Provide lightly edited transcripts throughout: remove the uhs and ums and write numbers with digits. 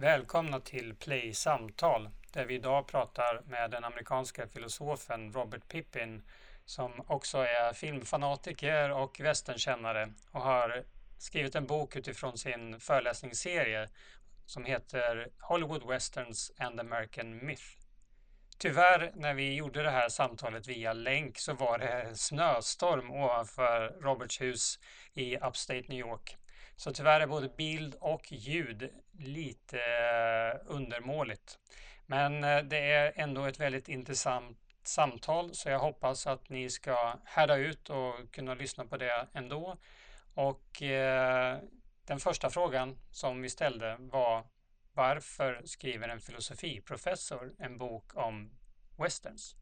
Välkomna till Play Samtal där vi idag pratar med den amerikanska filosofen Robert Pippin som också är filmfanatiker och westernkännare och har skrivit en bok utifrån sin föreläsningsserie som heter Hollywood Westerns and American Myth. Tyvärr när vi gjorde det här samtalet via länk så var det snöstorm ovanför Roberts hus i Upstate New York. Så tyvärr är både bild och ljud lite undermåligt. Men det är ändå ett väldigt intressant samtal så jag hoppas att ni ska härda ut och kunna lyssna på det ändå. Och den första frågan som vi ställde var: varför skriver en filosofiprofessor en bok om westerns?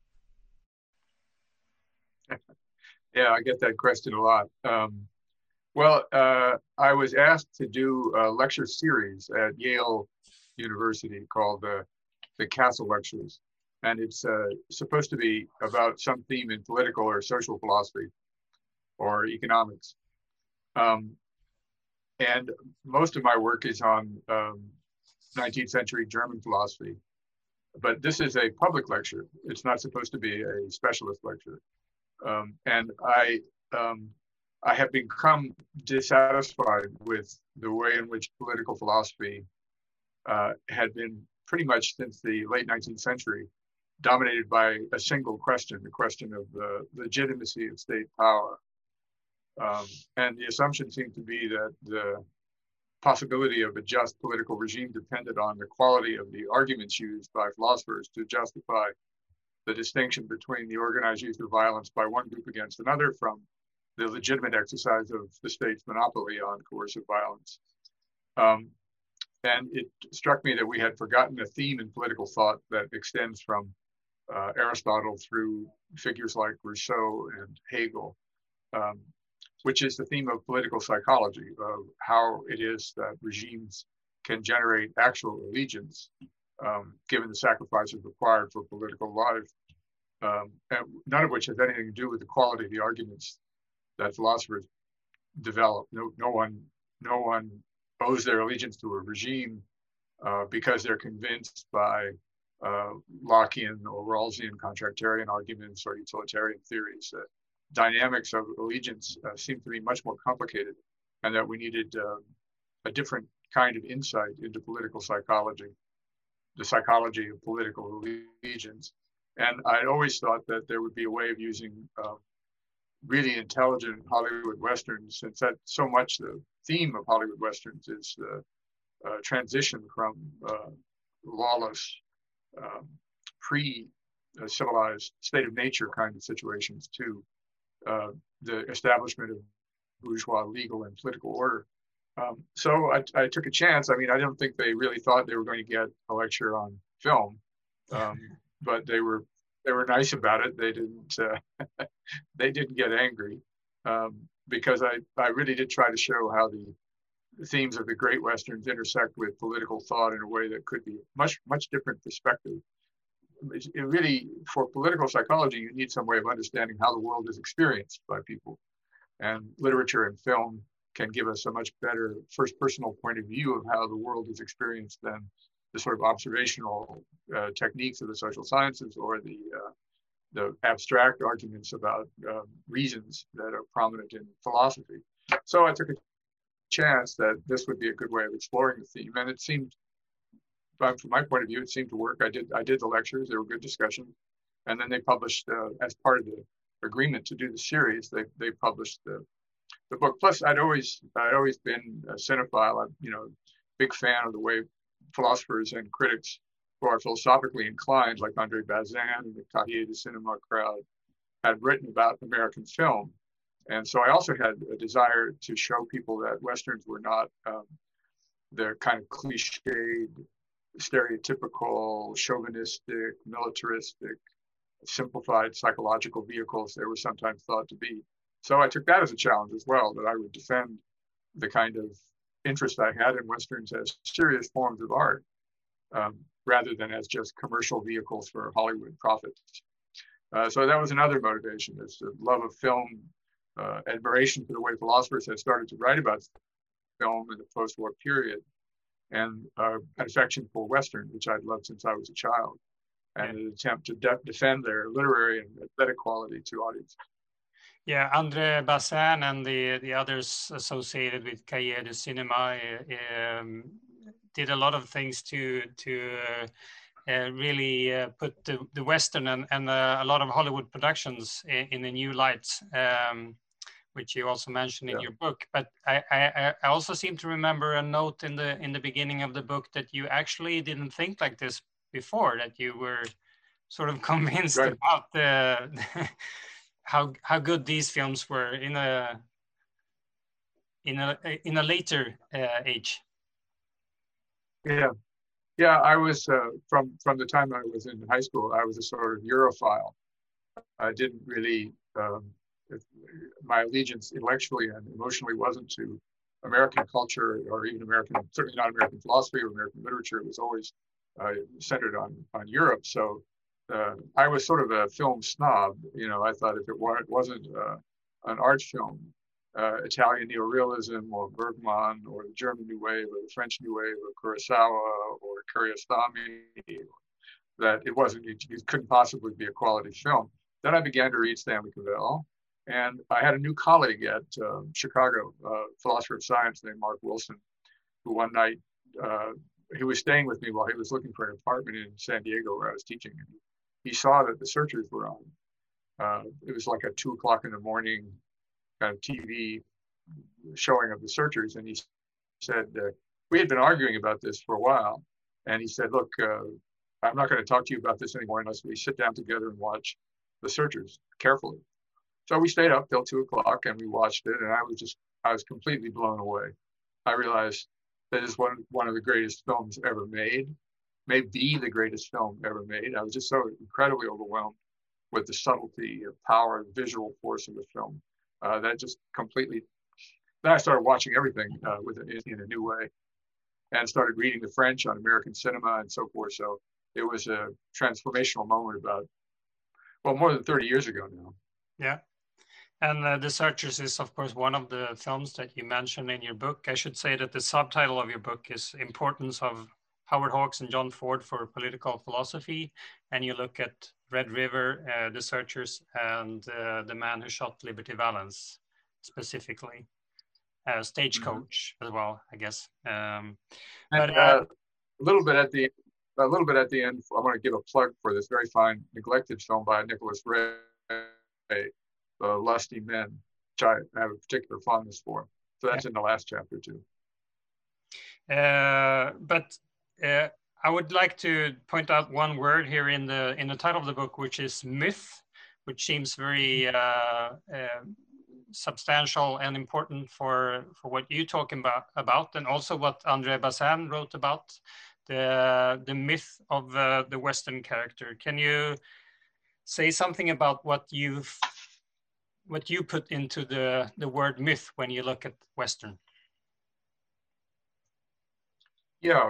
Yeah, I get that question a lot. I was asked to do a lecture series at Yale University called the Castle Lectures. And it's supposed to be about some theme in political or social philosophy or economics. And most of my work is on 19th century German philosophy. But this is a public lecture. It's not supposed to be a specialist lecture. And I have become dissatisfied with the way in which political philosophy had been pretty much since the late 19th century dominated by a single question, the question of the legitimacy of state power. And the assumption seemed to be that the possibility of a just political regime depended on the quality of the arguments used by philosophers to justify the distinction between the organized use of violence by one group against another from the legitimate exercise of the state's monopoly on coercive violence. And it struck me that we had forgotten a theme in political thought that extends from Aristotle through figures like Rousseau and Hegel, which is the theme of political psychology, of how it is that regimes can generate actual allegiance, given the sacrifices required for political life, and none of which has anything to do with the quality of the arguments that philosophers develop. No one owes their allegiance to a regime because they're convinced by Lockean or Rawlsian contractarian arguments or utilitarian theories that dynamics of allegiance seem to be much more complicated, and that we needed a different kind of insight into political psychology, the psychology of political allegiance. And I'd always thought that there would be a way of using really intelligent Hollywood Westerns, since that so much the theme of Hollywood Westerns is the transition from lawless, pre-civilized state of nature kind of situations to the establishment of bourgeois legal and political order. So I took a chance. I mean, I don't think they really thought they were going to get a lecture on film, but they were nice about it. They didn't get angry because I really did try to show how the themes of the great Westerns intersect with political thought in a way that could be much different perspective. It really, for political psychology, you need some way of understanding how the world is experienced by people. And literature and film can give us a much better first personal point of view of how the world is experienced than the sort of observational techniques of the social sciences or the abstract arguments about reasons that are prominent in philosophy. So I took a chance that this would be a good way of exploring the theme, and it seemed, from my point of view, it seemed to work. I did the lectures; they were good discussions, and then they published as part of the agreement to do the series. They published the book. Plus, I'd always been a cinephile. I'm big fan of the way philosophers and critics who are philosophically inclined, like Andre Bazin and the Cahiers du Cinéma crowd, had written about American film. And so I also had a desire to show people that Westerns were not the kind of cliched, stereotypical, chauvinistic, militaristic, simplified psychological vehicles they were sometimes thought to be. So I took that as a challenge as well, that I would defend the kind of interest I had in Westerns as serious forms of art, rather than as just commercial vehicles for Hollywood profits. So that was another motivation, is the love of film, admiration for the way philosophers had started to write about film in the post-war period, and an affection for Western, which I'd loved since I was a child, and an attempt to defend their literary and aesthetic quality to audiences. Yeah, André Bazin and the others associated with Cahiers du Cinéma did a lot of things to really put the Western and a lot of Hollywood productions in a new light, which you also mentioned in your book. But I also seem to remember a note in the beginning of the book that you actually didn't think like this before, that you were sort of convinced about how good these films were in a later age. Yeah, I was from the time I was in high school, I was a sort of Europhile. I didn't really my allegiance intellectually and emotionally wasn't to American culture or even certainly not American philosophy or American literature. It was always centered on Europe. So I was sort of a film snob. I thought if it wasn't an art film, Italian neorealism or Bergman or the German New Wave or the French New Wave or Kurosawa or Kiarostami, that it couldn't possibly be a quality film. Then I began to read Stanley Cavell, and I had a new colleague at Chicago, philosopher of science named Mark Wilson, who one night, he was staying with me while he was looking for an apartment in San Diego where I was teaching. And he saw that The Searchers were on. It was like a 2:00 in the morning kind of TV showing of The Searchers. And he said, we had been arguing about this for a while. And he said, look, I'm not going to talk to you about this anymore unless we sit down together and watch The Searchers carefully. So we stayed up till 2:00 and we watched it, and I was completely blown away. I realized that is one of the greatest films ever made, may be the greatest film ever made. I was just so incredibly overwhelmed with the subtlety of power, the visual force of the film. That just completely. Then I started watching everything in a new way, and started reading the French on American cinema and so forth. So it was a transformational moment about, more than 30 years ago now. Yeah. And The Searchers is, of course, one of the films that you mentioned in your book. I should say that the subtitle of your book is Importance of Howard Hawks and John Ford for Political Philosophy. And you look at Red River, The Searchers, and The Man Who Shot Liberty Valance specifically. Stagecoach as well, I guess. A little bit at the end, I want to give a plug for this very fine, neglected film by Nicholas Ray, The Lusty Men, which I have a particular fondness for. So that's in the last chapter too. But I would like to point out one word here in the title of the book, which is myth, which seems very substantial and important for what you talk about, and also what André Bazin wrote about, the myth of the Western character. Can you say something about what you put into the word myth when you look at Western? Yeah,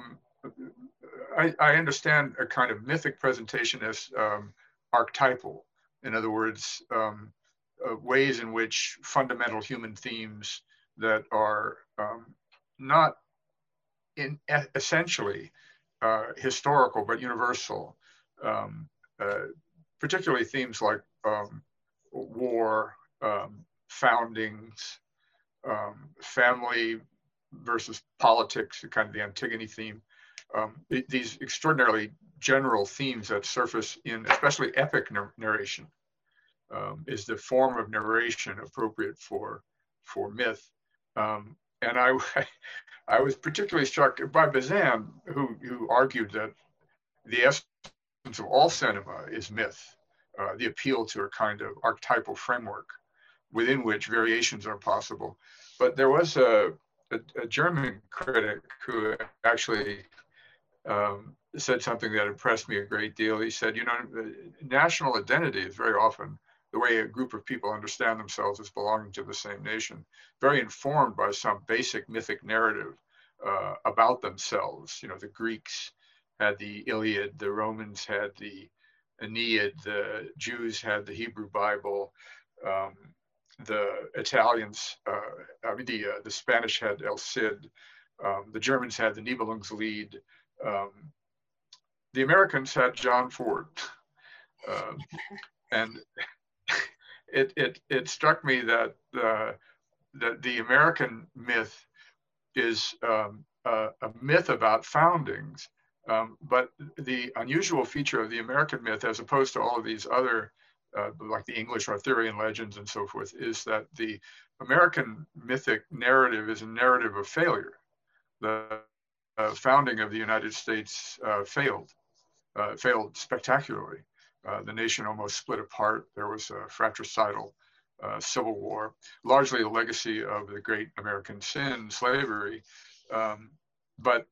I understand a kind of mythic presentation as archetypal. In other words, ways in which fundamental human themes that are not essentially historical but universal, particularly themes like war, foundings, family versus politics, kind of the Antigone theme. These extraordinarily general themes that surface in especially epic narration is the form of narration appropriate for myth. And I was particularly struck by Bazin, who argued that the essence of all cinema is myth, the appeal to a kind of archetypal framework within which variations are possible. But there was a German critic who actually said something that impressed me a great deal. He said, national identity is very often the way a group of people understand themselves as belonging to the same nation, very informed by some basic mythic narrative about themselves. The Greeks had the Iliad, the Romans had the Aeneid, the Jews had the Hebrew Bible, the Italians, the Spanish had El Cid, The Germans had the Nibelungslied. The Americans had John Ford. And it struck me that the American myth is a myth about foundings, but the unusual feature of the American myth, as opposed to all of these other, like the English Arthurian legends and so forth, is that the American mythic narrative is a narrative of failure. The founding of the United States failed spectacularly. The nation almost split apart. There was a fratricidal civil war, largely a legacy of the great American sin, slavery. But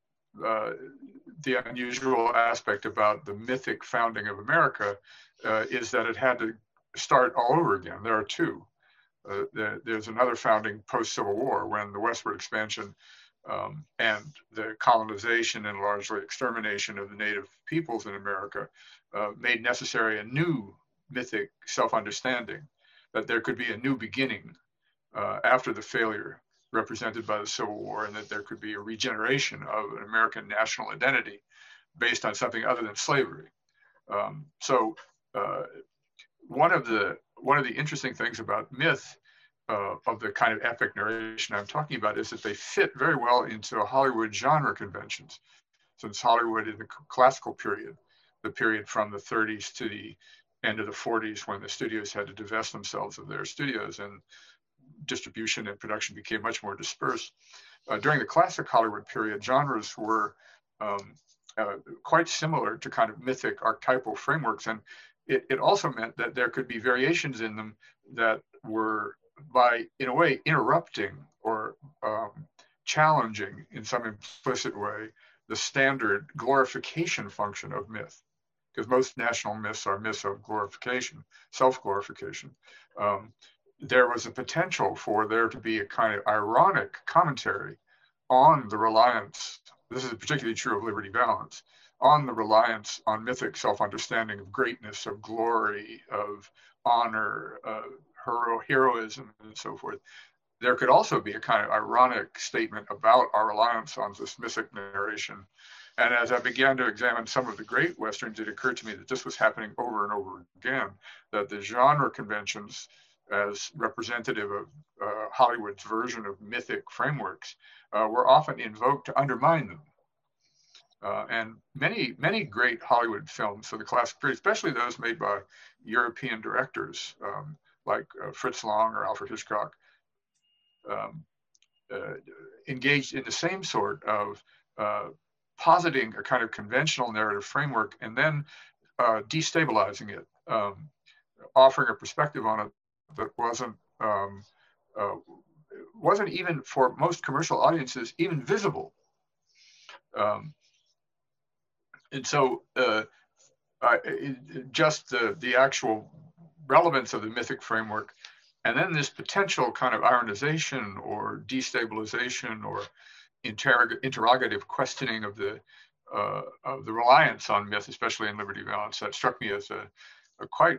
the unusual aspect about the mythic founding of America is that it had to start all over again. There are two. There's another founding post-Civil War, when the westward expansion and the colonization and largely extermination of the native peoples in America made necessary a new mythic self-understanding, that there could be a new beginning after the failure represented by the Civil War, and that there could be a regeneration of an American national identity based on something other than slavery. So one of the interesting things about myth of the kind of epic narration I'm talking about is that they fit very well into Hollywood genre conventions. Since Hollywood in the classical period, the period from the 30s to the end of the 40s, when the studios had to divest themselves of their studios and distribution and production became much more dispersed. During the classic Hollywood period, genres were quite similar to kind of mythic archetypal frameworks. And it also meant that there could be variations in them that were, by, in a way, interrupting or challenging in some implicit way the standard glorification function of myth, because most national myths are myths of glorification, self-glorification. There was a potential for there to be a kind of ironic commentary on the reliance, this is particularly true of Liberty Valance, on the reliance on mythic self-understanding of greatness, of glory, of honor, of heroism, and so forth. There could also be a kind of ironic statement about our reliance on this mythic narration. And as I began to examine some of the great Westerns, it occurred to me that this was happening over and over again, that the genre conventions, as representative of Hollywood's version of mythic frameworks, were often invoked to undermine them. And many great Hollywood films of the classic period, especially those made by European directors like Fritz Lang or Alfred Hitchcock, engaged in the same sort of positing a kind of conventional narrative framework and then destabilizing it, offering a perspective on it that wasn't even, for most commercial audiences, even visible. And so just the actual relevance of the mythic framework, and then this potential kind of ironization or destabilization or interrogative questioning of the reliance on myth, especially in Liberty Valance, that struck me as a quite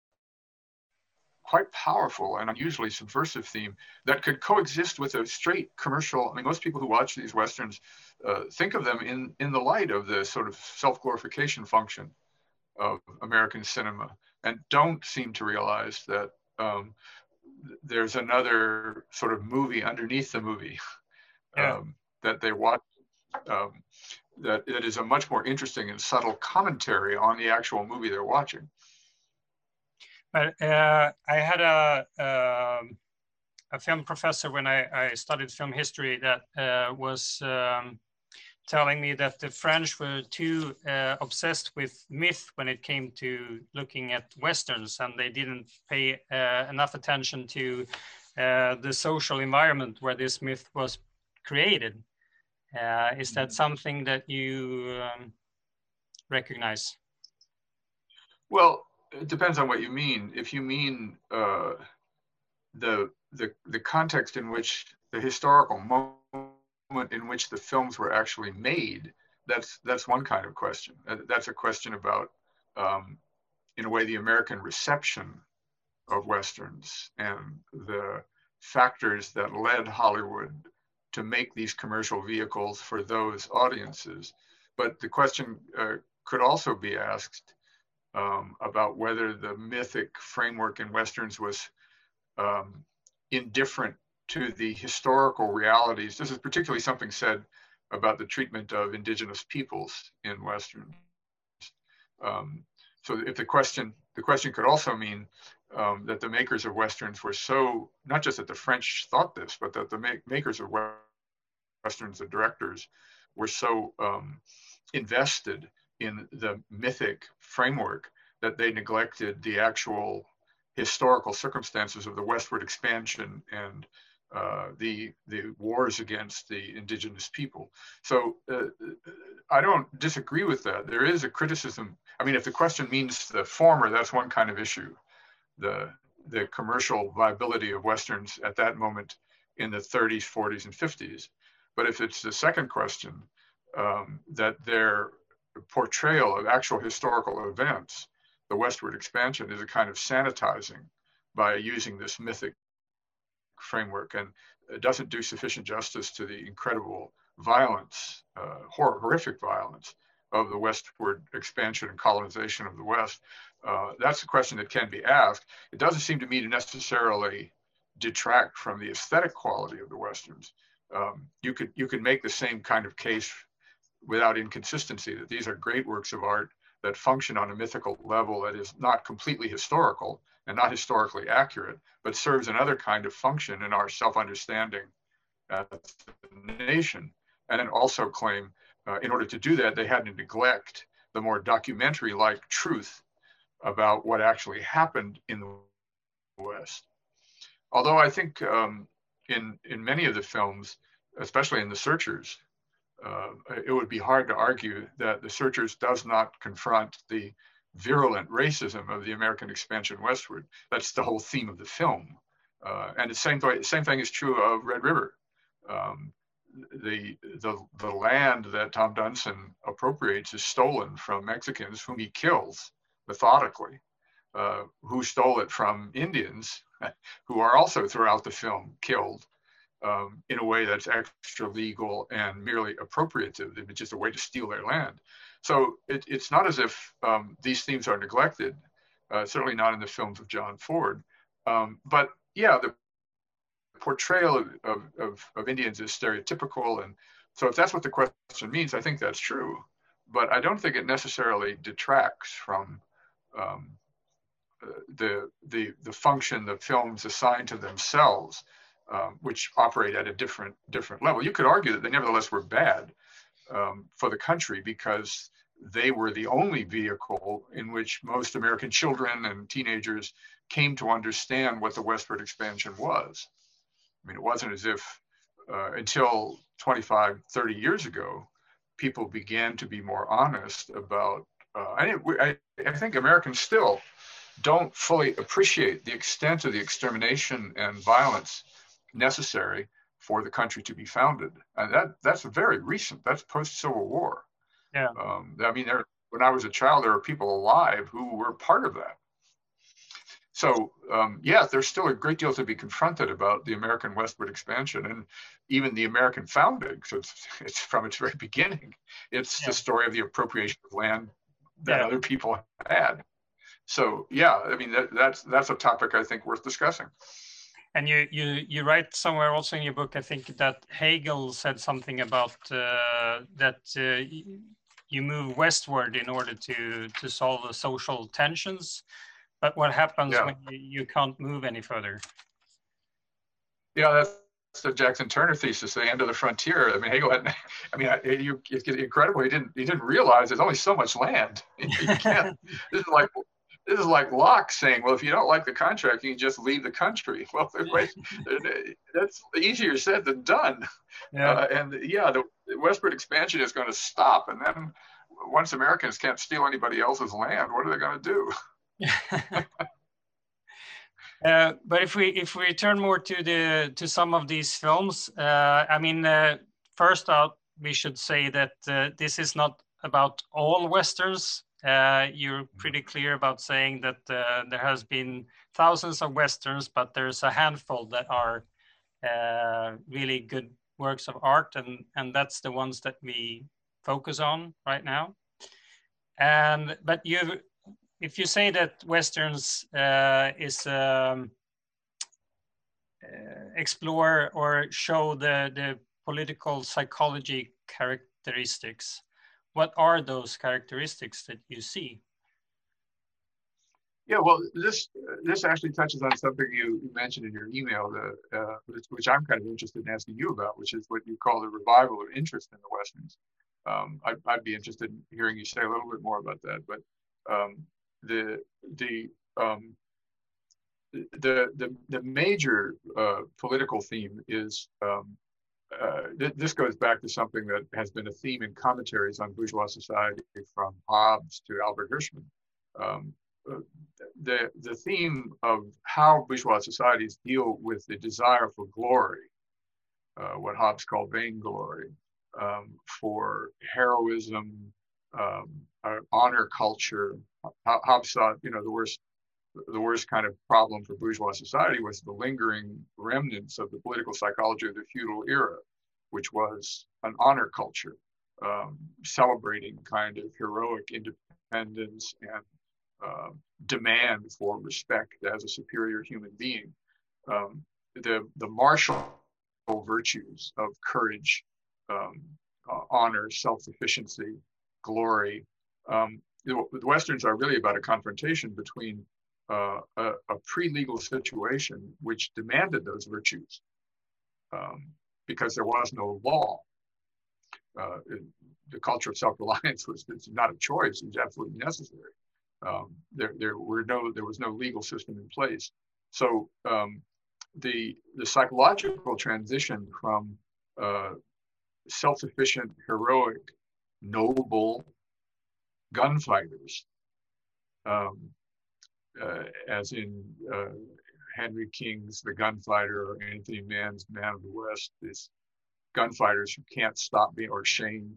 powerful and unusually subversive theme that could coexist with a straight commercial. I mean, most people who watch these Westerns think of them in the light of the sort of self-glorification function of American cinema, and don't seem to realize that there's another sort of movie underneath the movie that they watch, that it is a much more interesting and subtle commentary on the actual movie they're watching. But I had a film professor when I studied film history that was telling me that the French were too obsessed with myth when it came to looking at Westerns, and they didn't pay enough attention to the social environment where this myth was created. Is that something that you recognize? Well, it depends on what you mean. If you mean the context in which the historical moment in which the films were actually made, that's one kind of question. That's a question about, in a way, the American reception of Westerns and the factors that led Hollywood to make these commercial vehicles for those audiences. But the question could also be asked about whether the mythic framework in Westerns was indifferent to the historical realities. This is particularly something said about the treatment of indigenous peoples in Westerns. So if the question could also mean that the makers of Westerns were so, not just that the French thought this, but that the makers of Westerns, the directors, were so invested in the mythic framework that they neglected the actual historical circumstances of the westward expansion and the wars against the indigenous people. So I don't disagree with that. There is a criticism. I mean, if the question means the former, that's one kind of issue. The commercial viability of Westerns at that moment in the 30s, 40s, and 50s. But if it's the second question, that their portrayal of actual historical events, the westward expansion, is a kind of sanitizing by using this mythic framework, and it doesn't do sufficient justice to the incredible violence, horrific violence of the westward expansion and colonization of the West. That's a question that can be asked. It doesn't seem to me to necessarily detract from the aesthetic quality of the Westerns. You could make the same kind of case without inconsistency, that these are great works of art that function on a mythical level that is not completely historical and not historically accurate, but serves another kind of function in our self-understanding as a nation. And then also claim, in order to do that, they had to neglect the more documentary-like truth about what actually happened in the West. Although I think in many of the films, especially in The Searchers, it would be hard to argue that The Searchers does not confront the virulent racism of the American expansion westward. That's the whole theme of the film. And the same thing is true of Red River. The land that Tom Dunson appropriates is stolen from Mexicans whom he kills methodically, who stole it from Indians, who are also throughout the film killed in a way that's extra legal and merely appropriative. It's just a way to steal their land. So it's not as if these themes are neglected, certainly not in the films of John Ford. But yeah, the portrayal of Indians is stereotypical. And so if that's what the question means, I think that's true. But I don't think it necessarily detracts from the function the films assign to themselves, which operate at a different level. You could argue that they nevertheless were bad for the country because they were the only vehicle in which most American children and teenagers came to understand what the westward expansion was. I mean, it wasn't as if until 25, 30 years ago, people began to be more honest about, I think Americans still don't fully appreciate the extent of the extermination and violence necessary for the country to be founded. And that's very recent. That's post-Civil War. Yeah. I mean, when I was a child, there were people alive who were part of that. So, yeah, there's still a great deal to be confronted about the American westward expansion and even the American founding. So it's from its very beginning. It's the story of the appropriation of land that other people had. So, yeah, I mean, that's a topic I think worth discussing. And you write somewhere also in your book, I think, that Hegel said something about that you move westward in order to solve the social tensions. But what happens when you can't move any further? Yeah, that's the Jackson Turner thesis, the end of the frontier. I mean, Hegel had, I mean, it's incredible. He didn't realize there's only so much land. You can't. This is like Locke saying, well, if you don't like the contract, you can just leave the country. Well, that's easier said than done. Yeah. The westward expansion is going to stop. And then once Americans can't steal anybody else's land, what are they going to do? But if we turn more to some of these films, I mean, first out, we should say that this is not about all Westerns. You're pretty clear about saying that there has been thousands of Westerns, but there's a handful that are really good works of art, and that's the ones that we focus on right now. But if you say that Westerns is explore or show the political psychology characteristics, what are those characteristics that you see? Yeah, well, this actually touches on something you mentioned in your email, which I'm kind of interested in asking you about, which is what you call the revival of interest in the Westerns. I'd be interested in hearing you say a little bit more about that. But the major political theme is this goes back to something that has been a theme in commentaries on bourgeois society from Hobbes to Albert Hirschman. The theme of how bourgeois societies deal with the desire for glory, what Hobbes called vainglory, for heroism, honor culture. Hobbes thought, the worst kind of problem for bourgeois society was the lingering remnants of the political psychology of the feudal era, which was an honor culture, celebrating kind of heroic independence and demand for respect as a superior human being. The martial virtues of courage, honor, self-sufficiency, glory. The Westerns are really about a confrontation between a pre-legal situation which demanded those virtues because there was no law. The culture of self-reliance was not a choice; it was absolutely necessary. There was no legal system in place. So the psychological transition from self-sufficient, heroic, noble gunfighters, as in Henry King's The Gunfighter or Anthony Mann's Man of the West, these gunfighters who can't stop being, or Shane,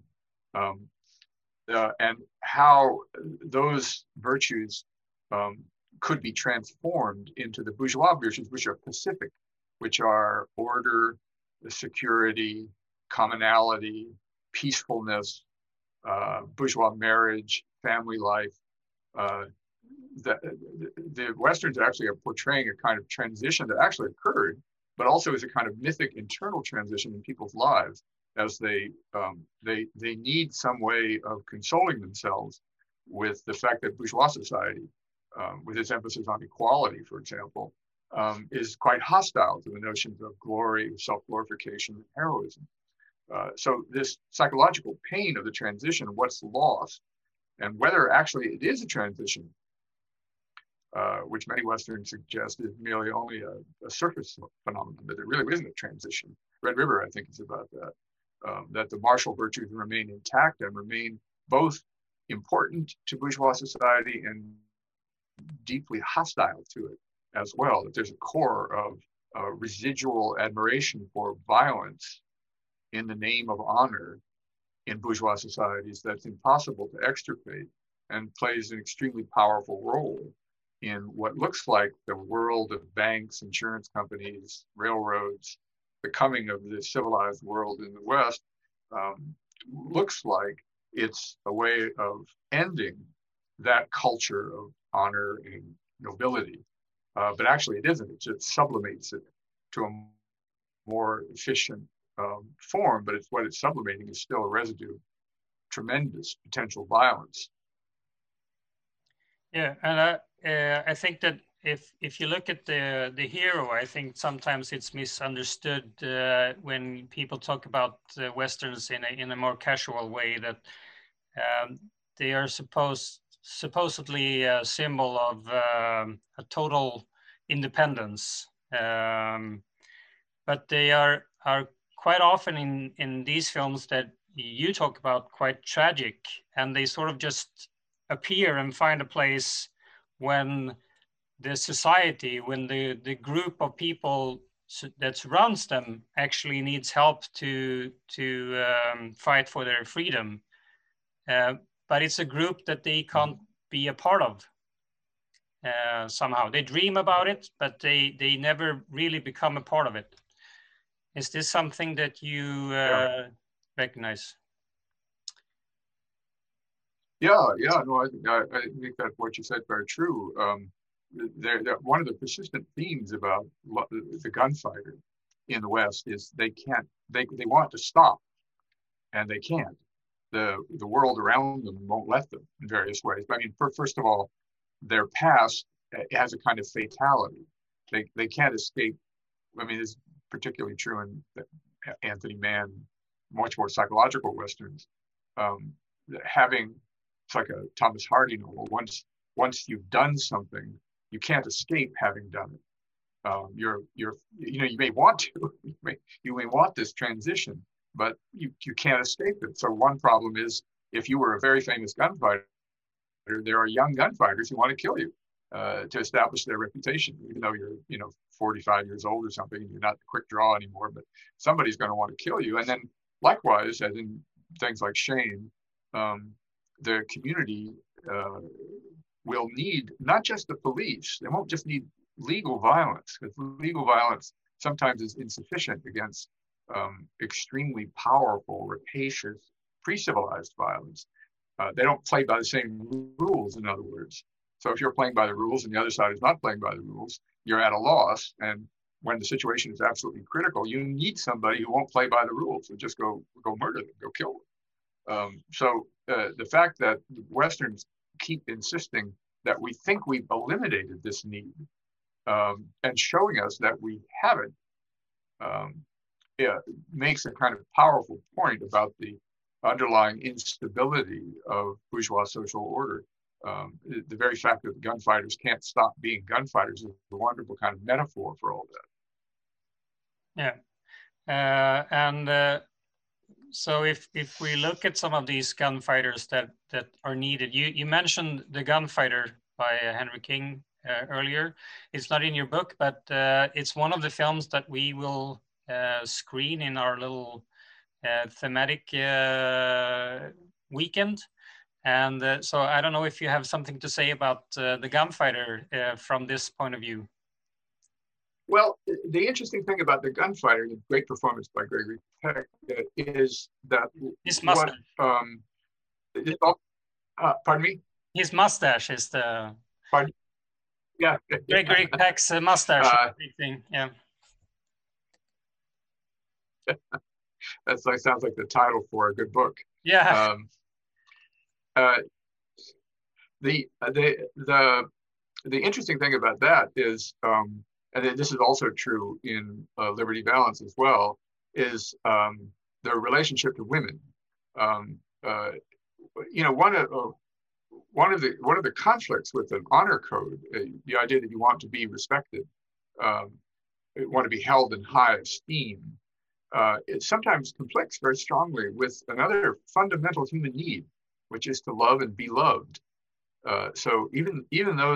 and how those virtues could be transformed into the bourgeois virtues, which are pacific, which are order, security, commonality, peacefulness, bourgeois marriage, family life. The Westerns actually are portraying a kind of transition that actually occurred, but also is a kind of mythic internal transition in people's lives as they need some way of consoling themselves with the fact that bourgeois society, with its emphasis on equality, for example, is quite hostile to the notions of glory, self-glorification, and heroism. So this psychological pain of the transition, what's lost, and whether actually it is a transition, which many Westerns suggest is merely only a surface phenomenon, that there really isn't a transition. Red River, I think, is about that. That the martial virtues remain intact and remain both important to bourgeois society and deeply hostile to it as well. That there's a core of residual admiration for violence in the name of honor in bourgeois societies that's impossible to extirpate and plays an extremely powerful role in what looks like the world of banks, insurance companies, railroads. The coming of the civilized world in the West looks like it's a way of ending that culture of honor and nobility. But actually it isn't. It just sublimates it to a more efficient form, but what it's sublimating is still a residue of tremendous potential violence. Yeah, and I think that if you look at the hero, I think sometimes it's misunderstood when people talk about Westerns in a more casual way, that they are supposedly a symbol of a total independence, but they are quite often in these films that you talk about quite tragic, and they sort of just appear and find a place when the society, when the group of people that surrounds them actually needs help to fight for their freedom. But it's a group that they can't be a part of somehow. They dream about it, but they never really become a part of it. Is this something that you recognize? Yeah, no, I think that what you said very true. One of the persistent themes about the gunfighter in the West is they want to stop and they can't. The world around them won't let them in various ways. But I mean, first of all, their past has a kind of fatality. They can't escape. I mean, it's particularly true in Anthony Mann, much more psychological Westerns. Um, having It's like a Thomas Hardy novel. Once you've done something, you can't escape having done it. You may want to, you may want this transition, but you can't escape it. So one problem is if you were a very famous gunfighter, there are young gunfighters who want to kill you to establish their reputation, even though you're 45 years old or something, and you're not the quick draw anymore. But somebody's going to want to kill you. And then likewise, as in things like Shane, the community will need not just the police. They won't just need legal violence, because legal violence sometimes is insufficient against extremely powerful, rapacious, pre-civilized violence. They don't play by the same rules, in other words. So if you're playing by the rules and the other side is not playing by the rules, you're at a loss. And when the situation is absolutely critical, you need somebody who won't play by the rules and just go murder them, go kill them. So the fact that Westerns keep insisting that we think we've eliminated this need and showing us that we haven't makes a kind of powerful point about the underlying instability of bourgeois social order. The very fact that the gunfighters can't stop being gunfighters is a wonderful kind of metaphor for all that. Yeah. So if we look at some of these gunfighters that are needed, you mentioned The Gunfighter by Henry King earlier. It's not in your book, but it's one of the films that we will screen in our little thematic weekend. And so I don't know if you have something to say about The Gunfighter from this point of view. Well, the interesting thing about The Gunfighter, the great performance by Gregory Peck, is that his mustache. Pardon me? His mustache is the. Pardon? Yeah. Gregory Peck's mustache. Thing. Yeah. That's like sounds like the title for a good book. Yeah. The interesting thing about that is, and this is also true in Liberty Valance as well, is the relationship to women. One of the conflicts with an honor code, the idea that you want to be respected, you want to be held in high esteem, it sometimes conflicts very strongly with another fundamental human need, which is to love and be loved. So even though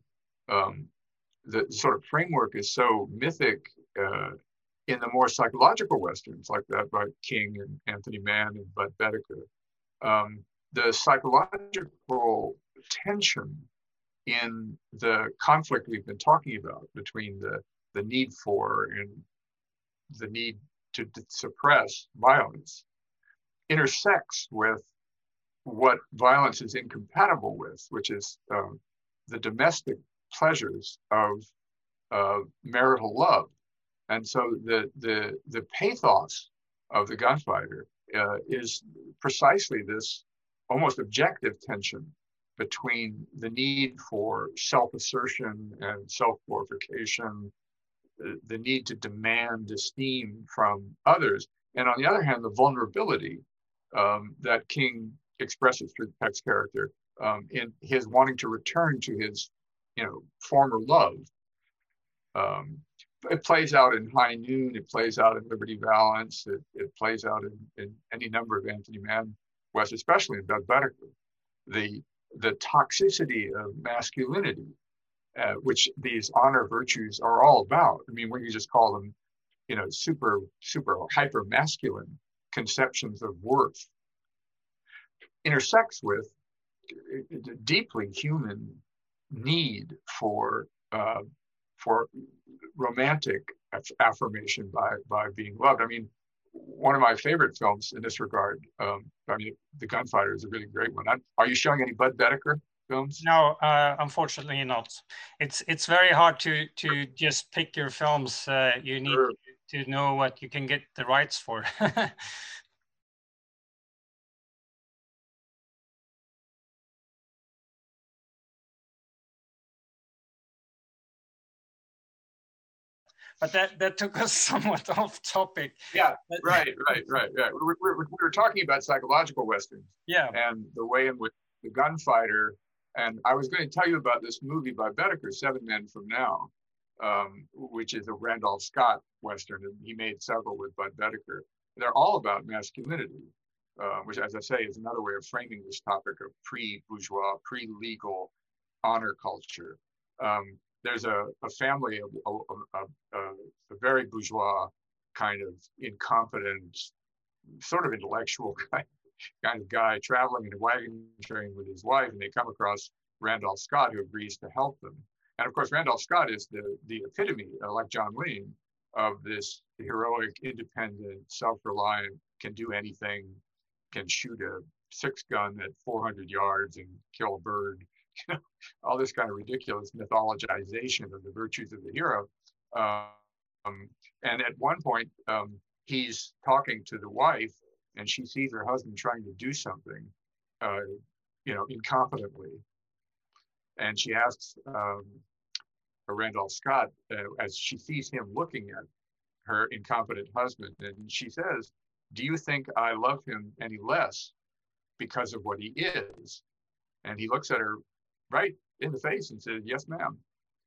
the sort of framework is so mythic in the more psychological Westerns like that by King and Anthony Mann and Bud Boetticher, the psychological tension in the conflict we've been talking about between the need for and the need to suppress violence intersects with what violence is incompatible with, which is the domestic pleasures of marital love. And so the pathos of The Gunfighter is precisely this almost objective tension between the need for self-assertion and self-glorification, the need to demand esteem from others, and on the other hand, the vulnerability that King expresses through Peck's character in his wanting to return to his former love. It plays out in High Noon, it plays out in Liberty Valance, it plays out in any number of Anthony Mann West, especially in Bud Boetticher. The toxicity of masculinity, which these honor virtues are all about. I mean, when you just call them, super hyper masculine conceptions of worth, intersects with deeply human need for romantic affirmation by being loved. I mean, one of my favorite films in this regard. I mean, The Gunfighter is a really great one. Are you showing any Budd Boetticher films? No, unfortunately not. It's very hard to just pick your films. You need Sure. to know what you can get the rights for. But that took us somewhat off topic. Yeah, right. We were talking about psychological westerns. Yeah. And the way in which The Gunfighter, and I was going to tell you about this movie by Boetticher, Seven Men from Now, which is a Randolph Scott western, and he made several with Budd Boetticher. They're all about masculinity, which, as I say, is another way of framing this topic of pre-bourgeois, pre-legal honor culture. There's a family of a very bourgeois, kind of incompetent, sort of intellectual kind of guy traveling in a wagon train with his wife, and they come across Randolph Scott, who agrees to help them. And of course, Randolph Scott is the epitome, like John Wayne, of this heroic, independent, self-reliant, can do anything, can shoot a 6-gun at 400 yards and kill a bird. All this kind of ridiculous mythologization of the virtues of the hero. And at one point, he's talking to the wife, and she sees her husband trying to do something, incompetently. And she asks Randolph Scott, as she sees him looking at her incompetent husband, and she says, "Do you think I love him any less because of what he is?" And he looks at her right in the face and says, "Yes, ma'am.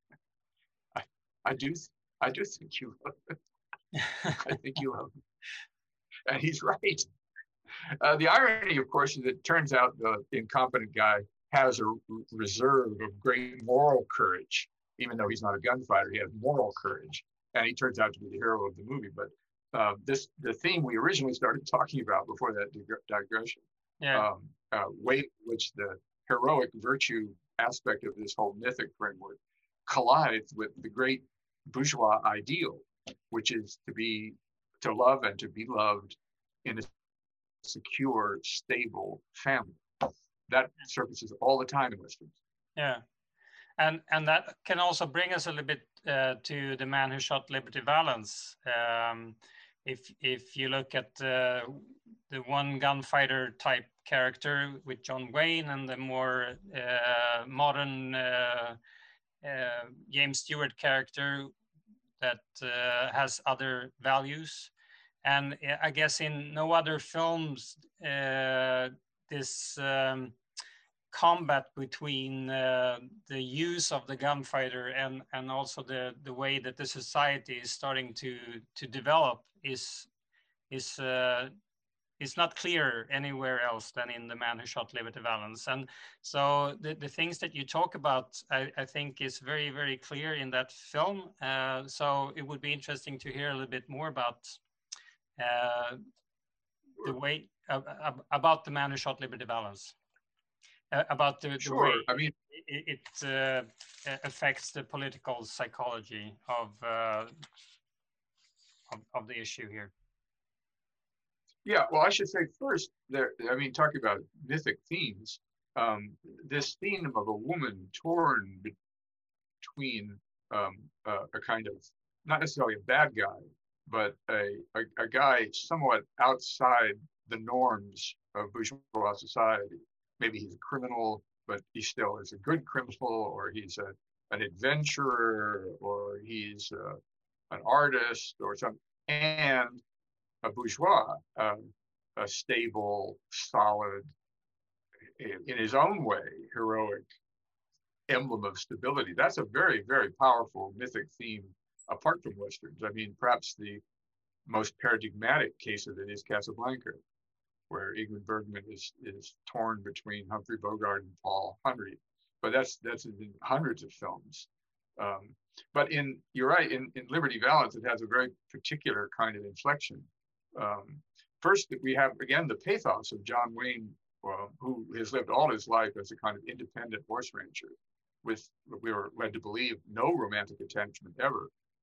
I do think you love him. I think you love him." And he's right. The irony, of course, is that it turns out the incompetent guy has a reserve of great moral courage. Even though he's not a gunfighter, he has moral courage, and he turns out to be the hero of the movie. But the theme we originally started talking about before that digression, way in which the heroic virtue aspect of this whole mythic framework collides with the great bourgeois ideal, which is to love and to be loved in a secure, stable family. That surfaces all the time in westerns. Yeah, and that can also bring us a little bit to The Man Who Shot Liberty Valance. If you look at the one gunfighter type character with John Wayne, and the more modern James Stewart character that has other values. And I guess in no other films this combat between the use of the gunfighter and also the way that the society is starting to develop is not clear anywhere else than in The Man Who Shot Liberty Valance. And so the things that you talk about, I think is very, very clear in that film. So it would be interesting to hear a little bit more about the way about The Man Who Shot Liberty Valance, about the way it affects the political psychology of the issue here. Yeah, well, I should say first, talking about mythic themes, this theme of a woman torn between a kind of, not necessarily a bad guy, but a guy somewhat outside the norms of bourgeois society. Maybe he's a criminal, but he still is a good criminal, or he's an adventurer, or he's an artist or something, and a bourgeois, a stable, solid, in his own way, heroic emblem of stability. That's a very, very powerful mythic theme apart from westerns. I mean, perhaps the most paradigmatic case of it is Casablanca, where Ingrid Bergman is torn between Humphrey Bogart and Paul Henry. But that's in hundreds of films. But you're right, in Liberty Valance, it has a very particular kind of inflection. First, we have, again, the pathos of John Wayne, who has lived all his life as a kind of independent horse rancher with, we were led to believe, no romantic attachment ever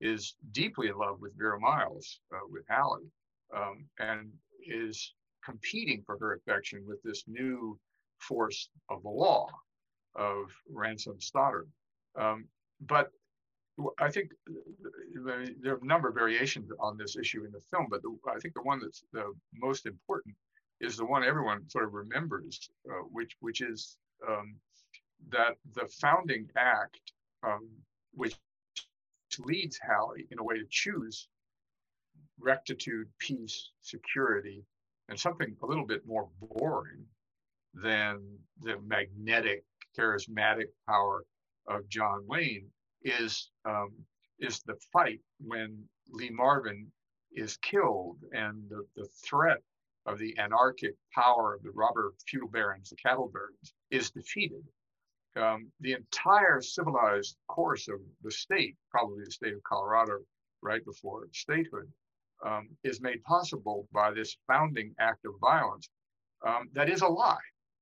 is deeply in love with Vera Miles, with Hallie, and is competing for her affection with this new force of the law of Ransom Stoddard. But I think there are a number of variations on this issue in the film, but I think the one that's the most important is the one everyone sort of remembers, which is that the founding act, which leads Hallie in a way to choose rectitude, peace, security, and something a little bit more boring than the magnetic, charismatic power of John Wayne, is the fight when Lee Marvin is killed and the threat of the anarchic power of the robber feudal barons, the cattle barons, is defeated. The entire civilized course of the state, probably the state of Colorado right before statehood, is made possible by this founding act of violence that is a lie,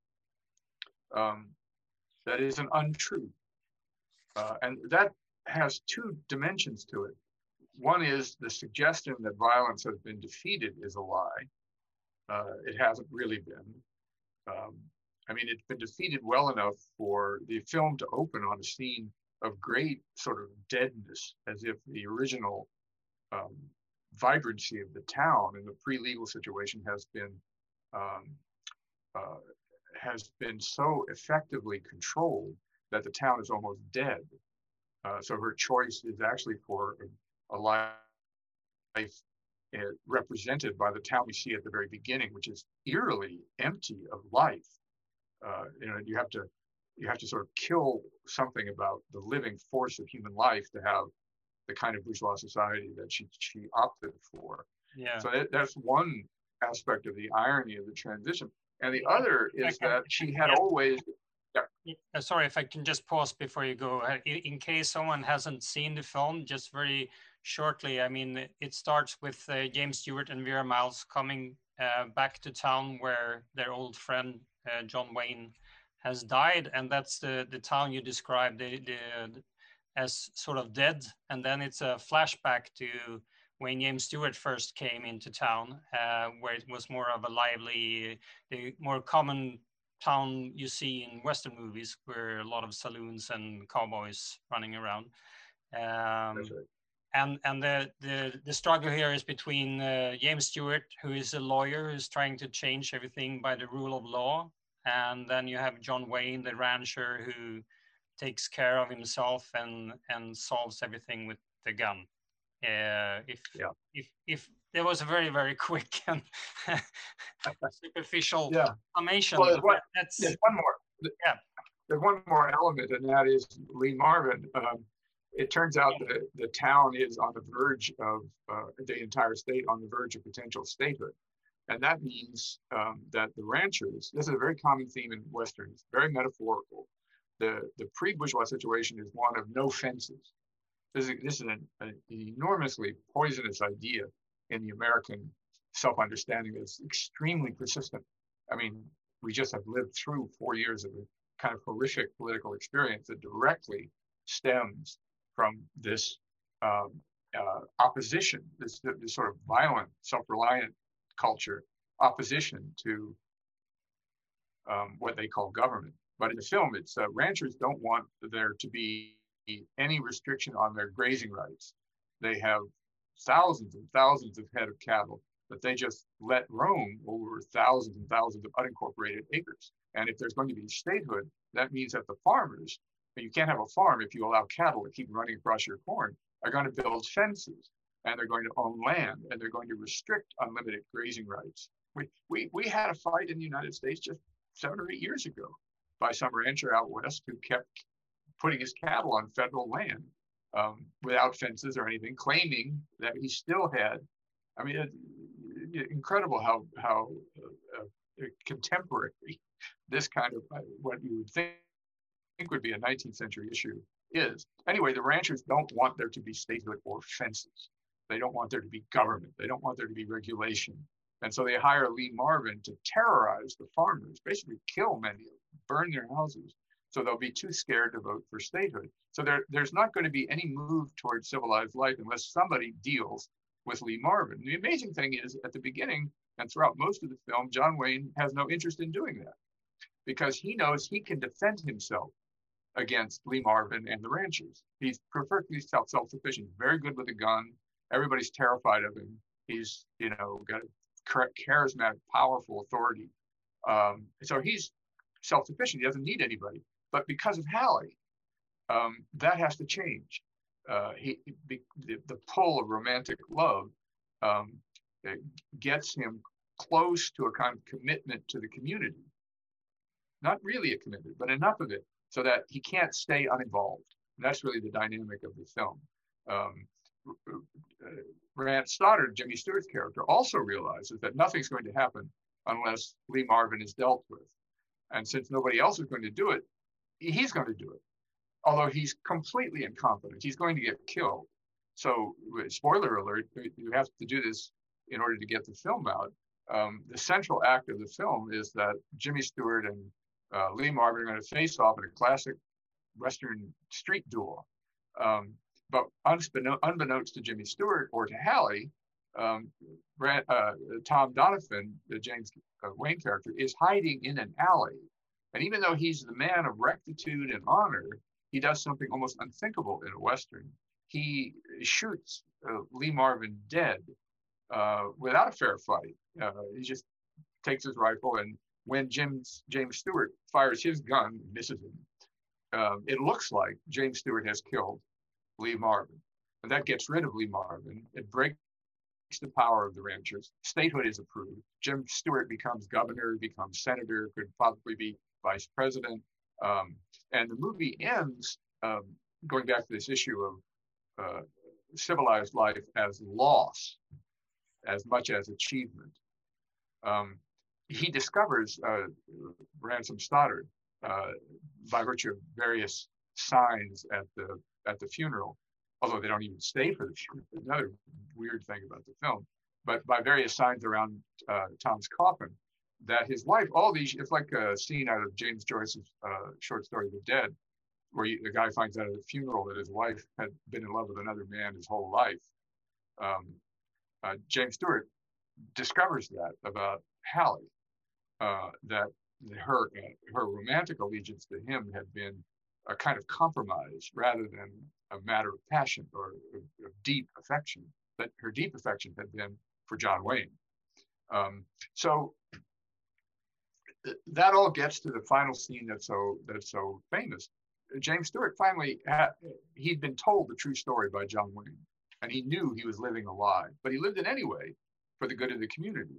that is an untruth. And that has two dimensions to it. One is the suggestion that violence has been defeated is a lie. It hasn't really been. I mean, it's been defeated well enough for the film to open on a scene of great sort of deadness, as if the original vibrancy of the town in the pre-legal situation has been so effectively controlled that the town is almost dead. So her choice is actually for a life represented by the town we see at the very beginning, which is eerily empty of life. You have to sort of kill something about the living force of human life to have the kind of bourgeois society that she opted for. Yeah. So that's one aspect of the irony of the transition. And the other is that she had always... Sorry, if I can just pause before you go. In case someone hasn't seen the film, just very shortly, I mean, it starts with James Stewart and Vera Miles coming back to town where their old friend John Wayne has died, and that's the town you described as sort of dead. And then it's a flashback to when James Stewart first came into town, where it was more of a lively, the more common town you see in Western movies, where a lot of saloons and cowboys running around. That's right. And the struggle here is between James Stewart, who is a lawyer who's trying to change everything by the rule of law, and then you have John Wayne, the rancher, who takes care of himself and solves everything with the gun. If there was a very, very quick and superficial summation. Well, there's one more. Yeah. There's one more element, and that is Lee Marvin. It turns out that the town is on the verge of the entire state on the verge of potential statehood. And that means that the ranchers, this is a very common theme in Westerns, very metaphorical. The pre-bourgeois situation is one of no fences. This is an enormously poisonous idea in the American self-understanding that's extremely persistent. I mean, we just have lived through 4 years of a kind of horrific political experience that directly stems from this opposition, this sort of violent, self-reliant culture, opposition to what they call government. But in the film, it's ranchers don't want there to be any restriction on their grazing rights. They have thousands and thousands of head of cattle that they just let roam over thousands and thousands of unincorporated acres. And if there's going to be statehood, that means that the farmers, but you can't have a farm if you allow cattle to keep running across your corn, are going to build fences, and they're going to own land, and they're going to restrict unlimited grazing rights. We had a fight in the United States just 7 or 8 years ago by some rancher out west who kept putting his cattle on federal land without fences or anything, claiming that he still had, I mean, incredible how contemporary this kind of what you would think would be a 19th century issue is. Anyway, the ranchers don't want there to be statehood or fences. They don't want there to be government. They don't want there to be regulation. And so they hire Lee Marvin to terrorize the farmers, basically kill many of them, burn their houses, So they'll be too scared to vote for statehood. So there's not going to be any move towards civilized life unless somebody deals with Lee Marvin. The amazing thing is, at the beginning and throughout most of the film, John Wayne has no interest in doing that because he knows he can defend himself against Lee Marvin and the ranchers. He's perfectly self-sufficient, very good with a gun. Everybody's terrified of him. He's, got a charismatic, powerful authority. So he's self-sufficient. He doesn't need anybody. But because of Hallie, that has to change. The pull of romantic love gets him close to a kind of commitment to the community. Not really a commitment, but enough of it so that he can't stay uninvolved. And that's really the dynamic of the film. Rance Stoddard, Jimmy Stewart's character, also realizes that nothing's going to happen unless Lee Marvin is dealt with. And since nobody else is going to do it, he's going to do it. Although he's completely incompetent, he's going to get killed. So, spoiler alert, you have to do this in order to get the film out. The central act of the film is that Jimmy Stewart and Lee Marvin are going to face off in a classic Western street duel. But unbeknownst to Jimmy Stewart or to Hallie, Tom Donovan, the James Wayne character, is hiding in an alley. And even though he's the man of rectitude and honor, he does something almost unthinkable in a Western. He shoots Lee Marvin dead without a fair fight. He just takes his rifle, and when James Stewart fires his gun, misses him. It looks like James Stewart has killed Lee Marvin. And that gets rid of Lee Marvin. It breaks the power of the ranchers. Statehood is approved. Jim Stewart becomes governor, becomes senator, could probably be vice president. And the movie ends going back to this issue of civilized life as loss as much as achievement. He discovers Ransom Stoddard by virtue of various signs at the funeral, although they don't even stay for the funeral. Another weird thing about the film, but by various signs around Tom's coffin, that his wife, it's like a scene out of James Joyce's short story, The Dead, where the guy finds out at a funeral that his wife had been in love with another man his whole life. James Stewart discovers that about Hallie, that her romantic allegiance to him had been a kind of compromise rather than a matter of passion or of deep affection, that her deep affection had been for John Wayne. So that all gets to the final scene that's so famous. James Stewart finally he'd been told the true story by John Wayne, and he knew he was living a lie, but he lived it anyway for the good of the community.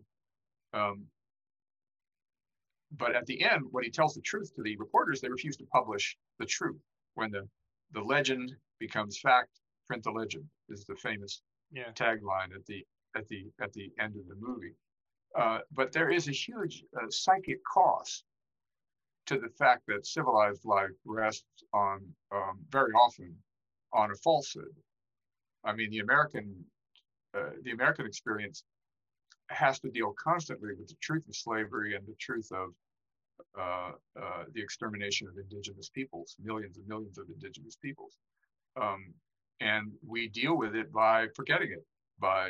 But at the end, when he tells the truth to the reporters, they refuse to publish the truth. When the legend becomes fact, print the legend is the famous tagline at the end of the movie. But there is a huge psychic cost to the fact that civilized life rests on very often on a falsehood. I mean, the American experience has to deal constantly with the truth of slavery and the truth of the extermination of indigenous peoples, millions and millions of indigenous peoples. And we deal with it by forgetting it, by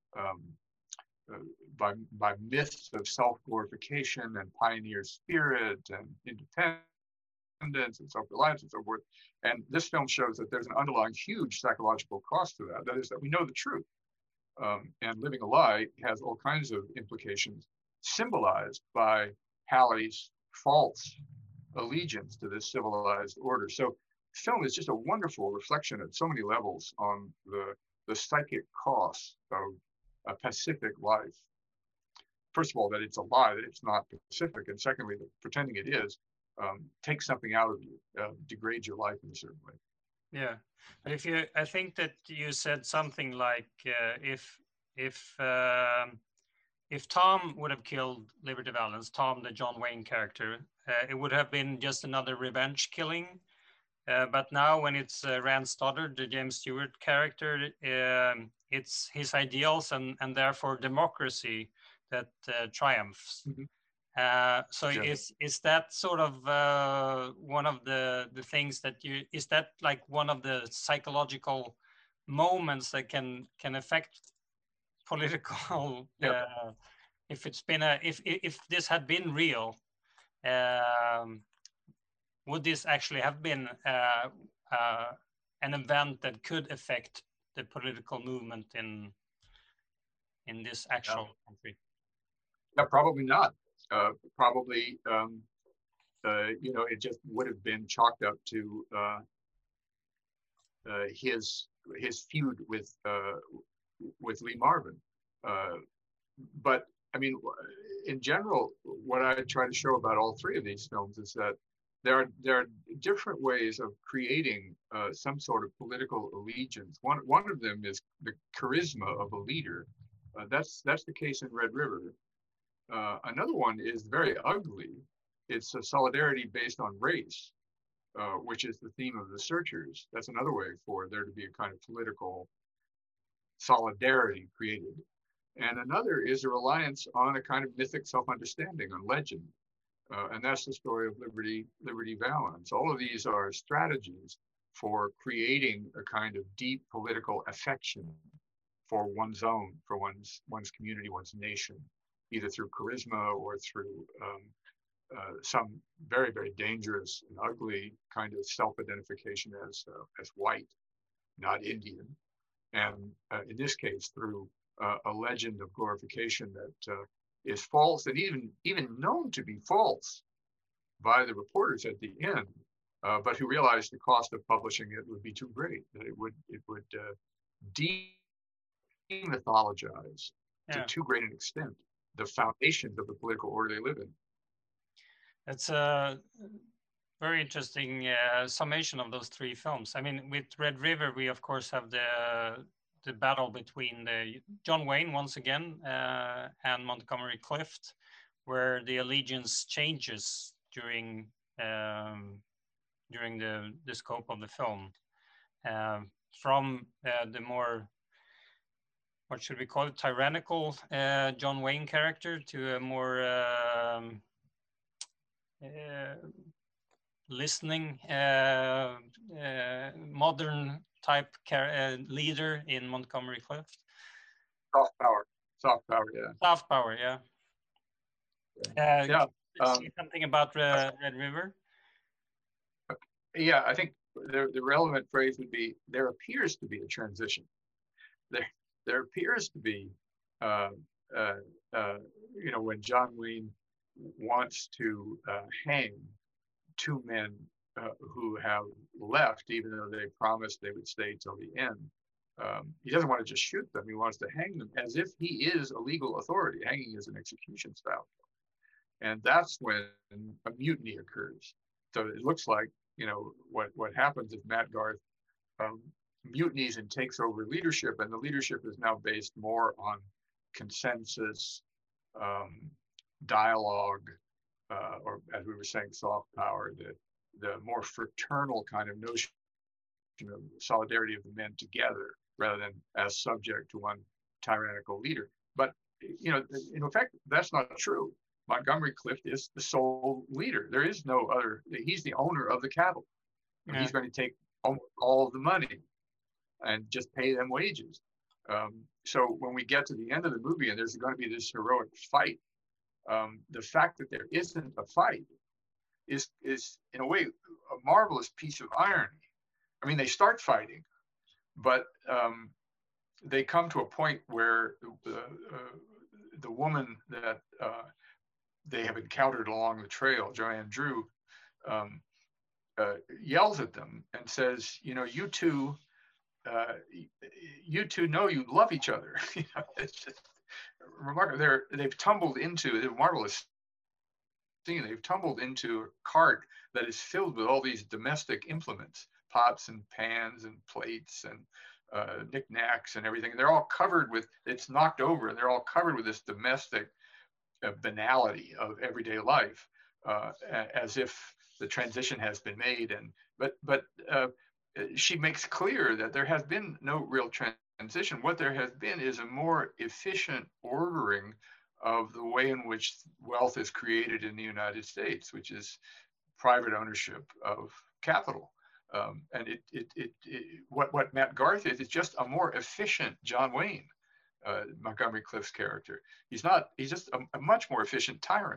myths of self-glorification and pioneer spirit and independence and self-reliance and so forth. And this film shows that there's an underlying huge psychological cost to that. That is that we know the truth. And living a lie has all kinds of implications symbolized by Hallie's false allegiance to this civilized order. So film is just a wonderful reflection at so many levels on the psychic cost of a pacific life. First of all, that it's a lie, that it's not pacific. And secondly, that pretending it is takes something out of you, degrades your life in a certain way. Yeah, but I think that you said something like if Tom would have killed Liberty Valance, Tom, the John Wayne character, it would have been just another revenge killing. But now when it's Rance Stoddard, the James Stewart character, it's his ideals and therefore democracy that triumphs. Mm-hmm. So Yeah. is that sort of one of the things that is that like one of the psychological moments that can affect political Yeah. if it's been if this had been real, would this actually have been an event that could affect the political movement in this actual country? Yeah, probably not. Probably, it just would have been chalked up to his feud with Lee Marvin. But I mean, in general, what I try to show about all three of these films is that there are different ways of creating some sort of political allegiance. One of them is the charisma of a leader. That's the case in Red River. Another one is very ugly. It's a solidarity based on race, which is the theme of The Searchers. That's another way for there to be a kind of political solidarity created. And another is a reliance on a kind of mythic self-understanding, on legend. And that's the story of Liberty Valance. All of these are strategies for creating a kind of deep political affection for one's own, for one's community, one's nation, either through charisma or through some very, very dangerous and ugly kind of self-identification as white, not Indian. And in this case, through a legend of glorification that is false and even known to be false by the reporters at the end, but who realized the cost of publishing it would be too great, that it would demythologize to too great an extent the foundations of the political order they live in. It's a very interesting summation of those three films. I mean, with Red River, we of course have the battle between John Wayne once again and Montgomery Clift, where the allegiance changes during the scope of the film, from the more, what should we call it, tyrannical John Wayne character to a more listening modern type leader in Montgomery Clift. Soft power, yeah. Soft power, yeah. Yeah. Can you say something about Red River? Yeah, I think the relevant phrase would be, there appears to be a transition. There appears to be, when John Wayne wants to hang two men who have left, even though they promised they would stay till the end. He doesn't want to just shoot them. He wants to hang them as if he is a legal authority. Hanging is an execution style. And that's when a mutiny occurs. So it looks like, what happens is Matt Garth mutinies and takes over leadership, and the leadership is now based more on consensus, dialogue, or as we were saying, soft power, the more fraternal kind of notion of solidarity of the men together rather than as subject to one tyrannical leader. But, in effect, that's not true. Montgomery Clift is the sole leader. There is no other. He's the owner of the cattle. And he's going to take all of the money and just pay them wages. So when we get to the end of the movie and there's going to be this heroic fight, the fact that there isn't a fight is in a way a marvelous piece of irony. I mean, they start fighting, but they come to a point where the woman that they have encountered along the trail, Joanne Drew, yells at them and says, you two know you love each other. It's just remarkable. They've tumbled into a marvelous scene. They've tumbled into a cart that is filled with all these domestic implements, pots and pans and plates and knickknacks and everything. They're all covered with, it's knocked over, and they're all covered with this domestic banality of everyday life, as if the transition has been made. But she makes clear that there has been no real transition. What there has been is a more efficient ordering of the way in which wealth is created in the United States, which is private ownership of capital. And what Matt Garth is just a more efficient John Wayne, Montgomery Clift's character. He's just a much more efficient tyrant.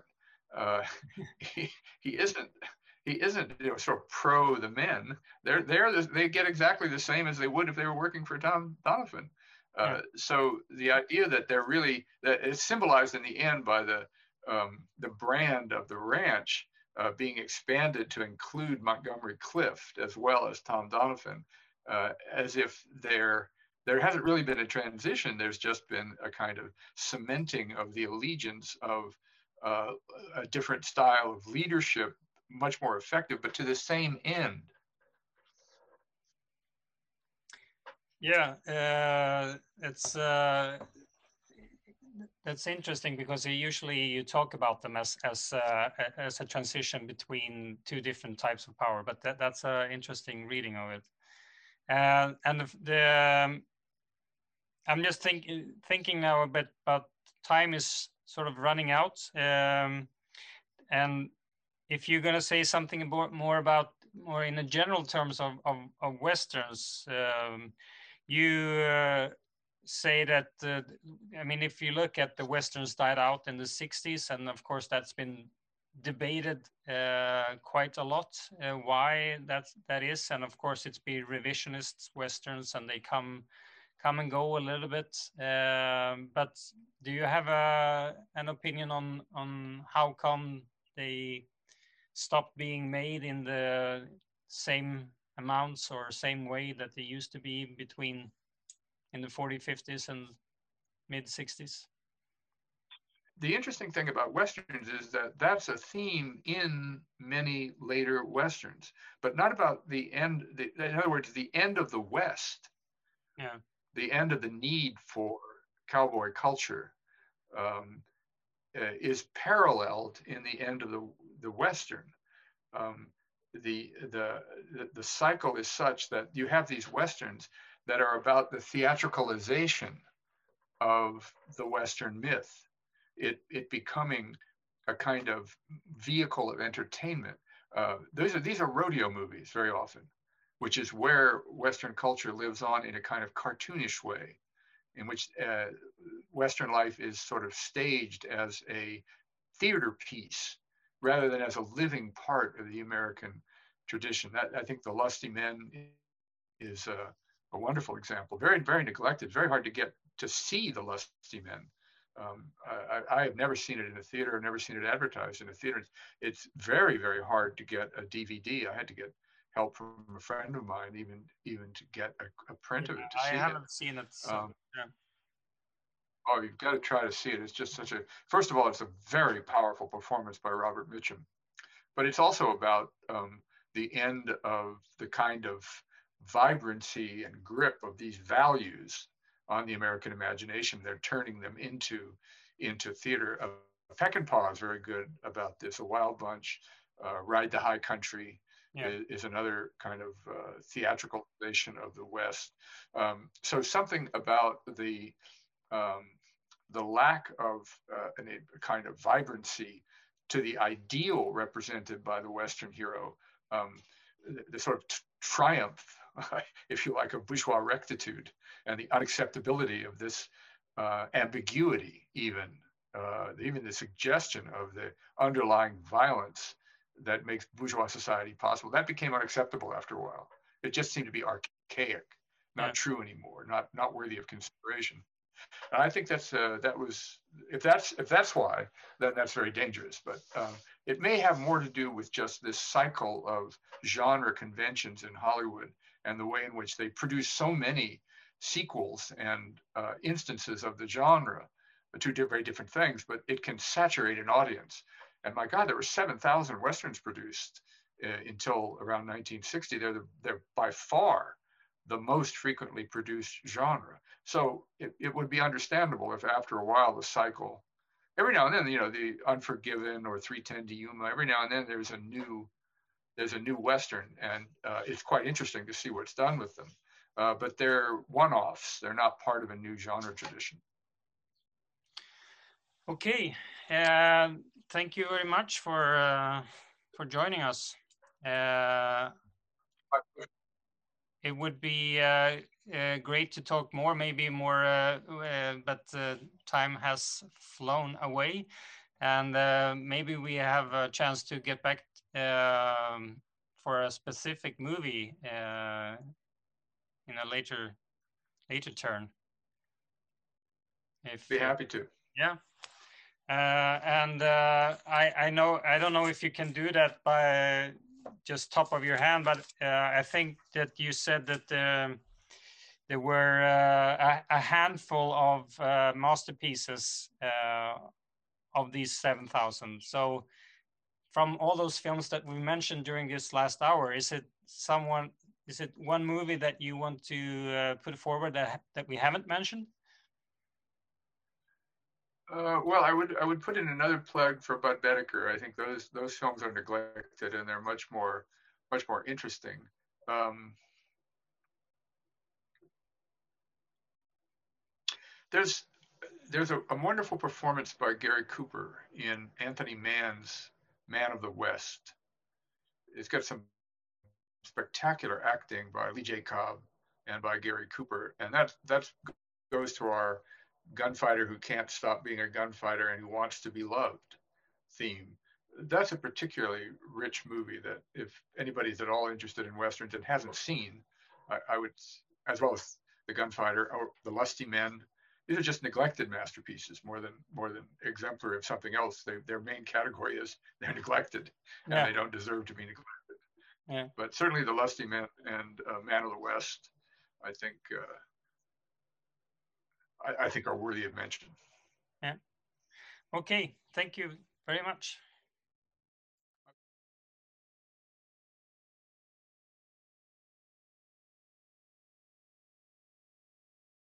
He isn't sort of pro the men. They get exactly the same as they would if they were working for Tom Donovan. So the idea that that it's symbolized in the end by the brand of the ranch being expanded to include Montgomery Clift as well as Tom Donovan, as if there hasn't really been a transition. There's just been a kind of cementing of the allegiance of a different style of leadership, much more effective, but to the same end. Yeah, that's interesting, because usually you talk about them as a transition between two different types of power, but that's an interesting reading of it. And I'm just thinking now a bit, but time is sort of running out. And if you're going to say something more in the general terms of Westerns, you say that, I mean, if you look at the Westerns died out in the 60s, and of course that's been debated quite a lot, why that is. And of course it's been revisionist Westerns, and they come and go a little bit. But do you have an opinion on how come they stopped being made in the same amounts or same way that they used to be in the 40s, 50s, and mid 60s? The interesting thing about Westerns is that that's a theme in many later Westerns, but not about the end. In other words, the end of the West, the end of the need for cowboy culture is paralleled in the end of the Western. The cycle is such that you have these Westerns that are about the theatricalization of the Western myth, it becoming a kind of vehicle of entertainment. These are rodeo movies very often, which is where Western culture lives on in a kind of cartoonish way, in which Western life is sort of staged as a theater piece rather than as a living part of the American tradition. I think The Lusty Men is a wonderful example. Very, very neglected. Very hard to get to see The Lusty Men. I have never seen it in a theater. I've never seen it advertised in a theater. It's very, very hard to get a DVD. I had to get help from a friend of mine, even to get a print of it to see it. I haven't seen it. So, Oh, you've got to try to see it. It's just first of all, it's a very powerful performance by Robert Mitchum, but it's also about the end of the kind of vibrancy and grip of these values on the American imagination. They're turning them into theater. Peckinpah is very good about this. A Wild Bunch, Ride the High Country is another kind of theatricalization of the West. So something about the lack of a kind of vibrancy to the ideal represented by the Western hero, the sort of triumph, if you like, of bourgeois rectitude, and the unacceptability of this ambiguity, even the suggestion of the underlying violence that makes bourgeois society possible. That became unacceptable after a while. It just seemed to be archaic, not true anymore, not worthy of consideration. And I think if that's why, then that's very dangerous. But it may have more to do with just this cycle of genre conventions in Hollywood and the way in which they produce so many sequels and instances of the genre, two very different things, but it can saturate an audience. And my God, there were 7,000 Westerns produced until around 1960. They're by far the most frequently produced genre. So it would be understandable if after a while the cycle, every now and then, the Unforgiven or 3:10 to Yuma, every now and then there's a new Western, and it's quite interesting to see what's done with them. But they're one-offs. They're not part of a new genre tradition. Okay, thank you very much for joining us. It would be great to talk more, maybe more, but time has flown away, and maybe we have a chance to get back for a specific movie in a later turn. If Be happy to. yeah. And I know, I don't know if you can do that by just top of your hand, but I think that you said that there were a handful of masterpieces of these 7,000. So from all those films that we mentioned during this last hour, is it one movie that you want to put forward that we haven't mentioned? Well, I would put in another plug for Bud Bedecker. I think those films are neglected and they're much more interesting. There's a wonderful performance by Gary Cooper in Anthony Mann's Man of the West. It's got some spectacular acting by Lee J. Cobb and by Gary Cooper, and that goes to our gunfighter who can't stop being a gunfighter and who wants to be loved theme. That's a particularly rich movie that if anybody's at all interested in westerns and hasn't seen, I would, as well as The Gunfighter or The Lusty Men. These are just neglected masterpieces more than exemplary of something else. Their main category is they're neglected and they don't deserve to be neglected. Yeah. But certainly The Lusty Men and Man of the West, I think I think are worthy of mention. Yeah. Okay. Thank you very much.